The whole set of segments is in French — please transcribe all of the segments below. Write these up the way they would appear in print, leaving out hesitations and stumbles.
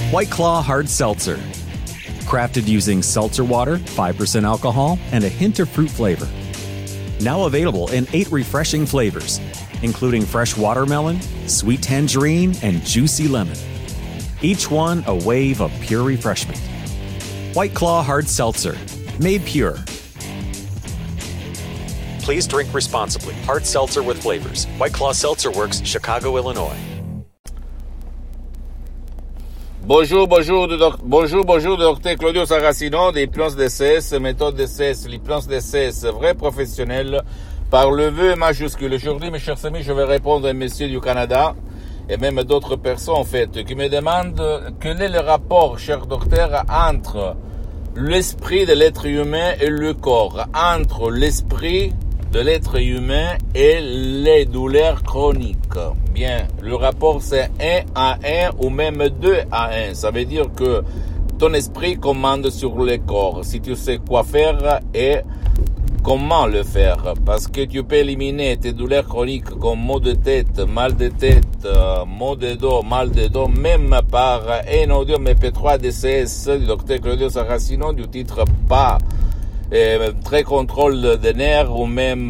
White Claw Hard Seltzer. Crafted using seltzer water, 5% alcohol, and a hint of fruit flavor. Now available in 8 refreshing flavors, including fresh watermelon, sweet tangerine, and juicy lemon. Each one a wave of pure refreshment. White Claw Hard Seltzer. Made pure. Please drink responsibly. Hard seltzer with flavors. White Claw Seltzer Works, Chicago, Illinois. Bonjour, docteur Claudio Saracino d'Hypnose DCS, méthode DCS, l'hypnose DCS, vrai professionnel, par le vœu majuscule. Aujourd'hui, mes chers amis, je vais répondre à un monsieur du Canada, et même d'autres personnes, en fait, qui me demandent quel est le rapport, cher docteur, entre l'esprit de l'être humain et le corps, entre l'esprit de l'être humain et les douleurs chroniques. Bien, le rapport c'est 1 à 1 ou même 2 à 1. Ça veut dire que ton esprit commande sur le corps. Si tu sais quoi faire et comment le faire. Parce que tu peux éliminer tes douleurs chroniques comme maux de tête, mal de tête, maux de dos, mal de dos, même par un audio MP3 DCS du docteur Claudio Saracino du titre pas très contrôle des nerfs ou même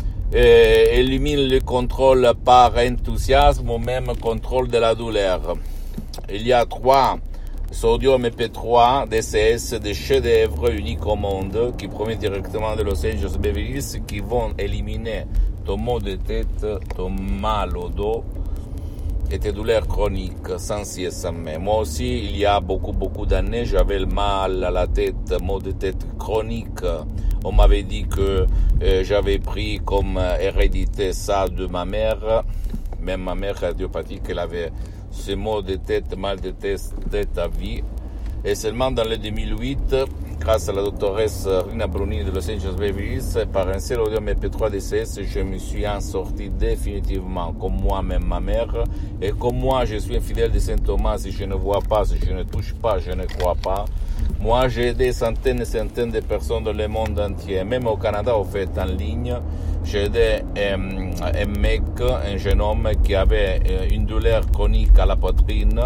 élimine le contrôle par enthousiasme ou même contrôle de la douleur. Il y a 3 Sodium MP3 DCS des chefs-d'œuvre uniques au monde qui proviennent directement de Los Angeles Beverly Hills qui vont éliminer ton maux de tête, ton mal au dos et tes douleurs chroniques sans si et sans mais. Moi aussi, il y a beaucoup d'années, j'avais le mal à la tête, maux de tête chronique. On m'avait dit que j'avais pris comme hérédité ça de ma mère. Même ma mère cardiopathique, elle avait ce maux de tête, mal de tête à vie. Et seulement dans le 2008, grâce à la doctoresse Rina Brunini de Los Angeles Beverly Hills, par un seul audio MP3 DCS, je me suis en sorti définitivement, comme moi-même ma mère. Et comme moi, je suis un fidèle de Saint Thomas, si je ne vois pas, si je ne touche pas, je ne crois pas. Moi, j'ai aidé centaines et centaines de personnes dans le monde entier, même au Canada, au fait, en ligne. J'ai aidé un mec, un jeune homme qui avait une douleur chronique à la poitrine,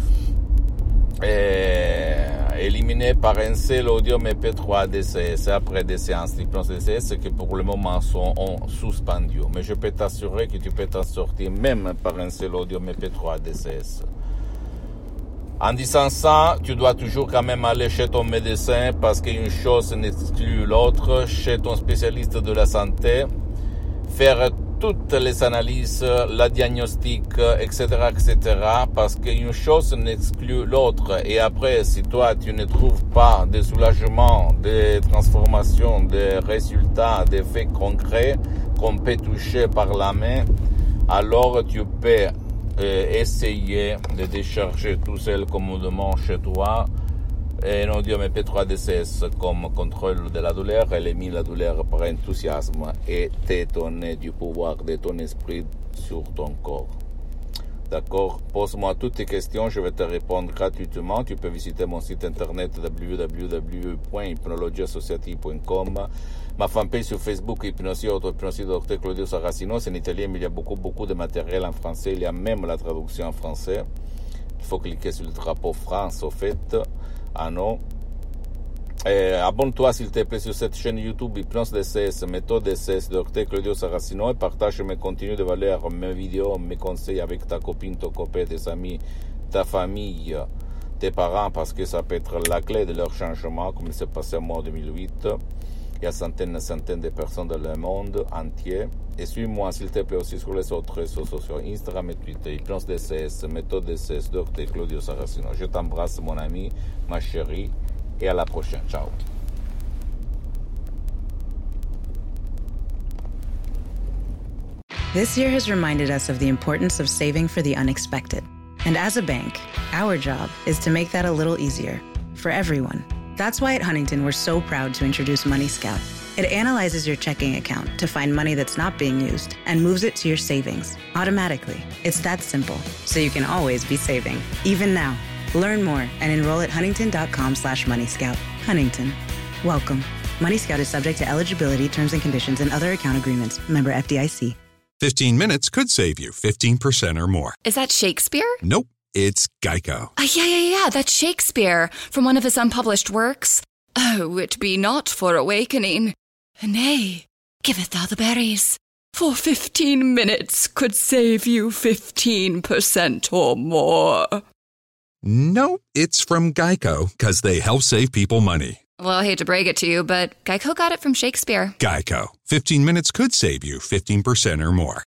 éliminé par un seul audio MP3 DCS après des séances d'hypnose DCS qui pour le moment sont suspendues. Mais je peux t'assurer que tu peux t'en sortir même par un seul audio MP3 DCS. En disant ça, tu dois toujours quand même aller chez ton médecin parce qu'une chose n'exclut l'autre, chez ton spécialiste de la santé, faire toutes les analyses, la diagnostic, etc., parce qu'une chose n'exclut l'autre. Et après, si toi, tu ne trouves pas de soulagement, de transformation, de résultats, d'effets concrets qu'on peut toucher par la main, alors tu peux essayer de décharger tout seul commodément chez toi un audio MP3 DCS comme contrôle de la douleur, élimine la douleur par enthousiasme et t'étonner du pouvoir de ton esprit sur ton corps. D'accord? Pose-moi toutes tes questions, je vais te répondre gratuitement. Tu peux visiter mon site internet www.hypnologieassociative.com, ma fanpage sur Facebook, Hypnosie Dr Claudio Saracino, c'est en italien, mais il y a beaucoup de matériel en français, il y a même la traduction en français. Il faut cliquer sur le drapeau France, au fait. Ah non. Abonne-toi s'il te plaît sur cette chaîne YouTube Hypnose DCS, méthode DCS, Dr Claudio Saracino, et partage mes contenus de valeur, mes vidéos, mes conseils avec ta copine, ton copain, tes amis, ta famille, tes parents, parce que ça peut être la clé de leur changement, comme il s'est passé en moi en 2008. Il y a centaines et centaines de personnes dans le monde entier. Et suis-moi s'il te plaît aussi sur les autres réseaux sociaux, Instagram et Twitter, Hypnose DCS, méthode DCS, Dr Claudio Saracino. Je t'embrasse mon ami, ma chérie, et à la prochaine. Ciao. This year has reminded us of the importance of saving for the unexpected. And as a bank, our job is to make that a little easier for everyone. That's why at Huntington, we're so proud to introduce Money Scout. It analyzes your checking account to find money that's not being used and moves it to your savings automatically. It's that simple, so you can always be saving, even now. Learn more and enroll at huntington.com/moneyscout. Huntington. Welcome. Money Scout is subject to eligibility, terms and conditions, and other account agreements. Member FDIC. 15 minutes could save you 15% or more. Is that Shakespeare? Nope. It's Geico. Yeah, that's Shakespeare from one of his unpublished works. Oh, it be not for awakening. Nay, giveth thou the berries. For 15 minutes could save you 15% or more. No, it's from Geico, because they help save people money. Well, I hate to break it to you, but Geico got it from Shakespeare. Geico. 15 minutes could save you 15% or more.